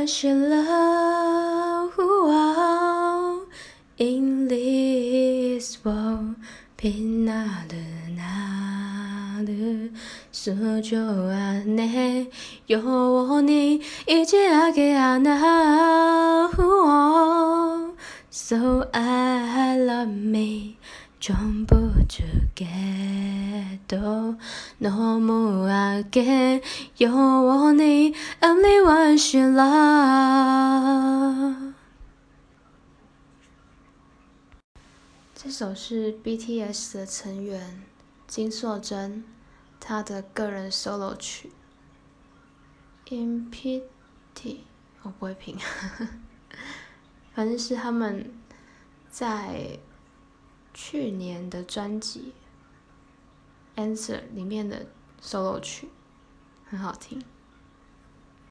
万是了in this world 빛나는 나를 수조 안에 영원히 잊지하게 하나 So I love me 전부 주게도 너무하게 영원히 Only one should love。 这首是 BTS 的成员金硕珍他的个人 solo 曲 Infinity 我不会拼反正是他们在去年的专辑 Answer 里面的 solo 曲，很好听。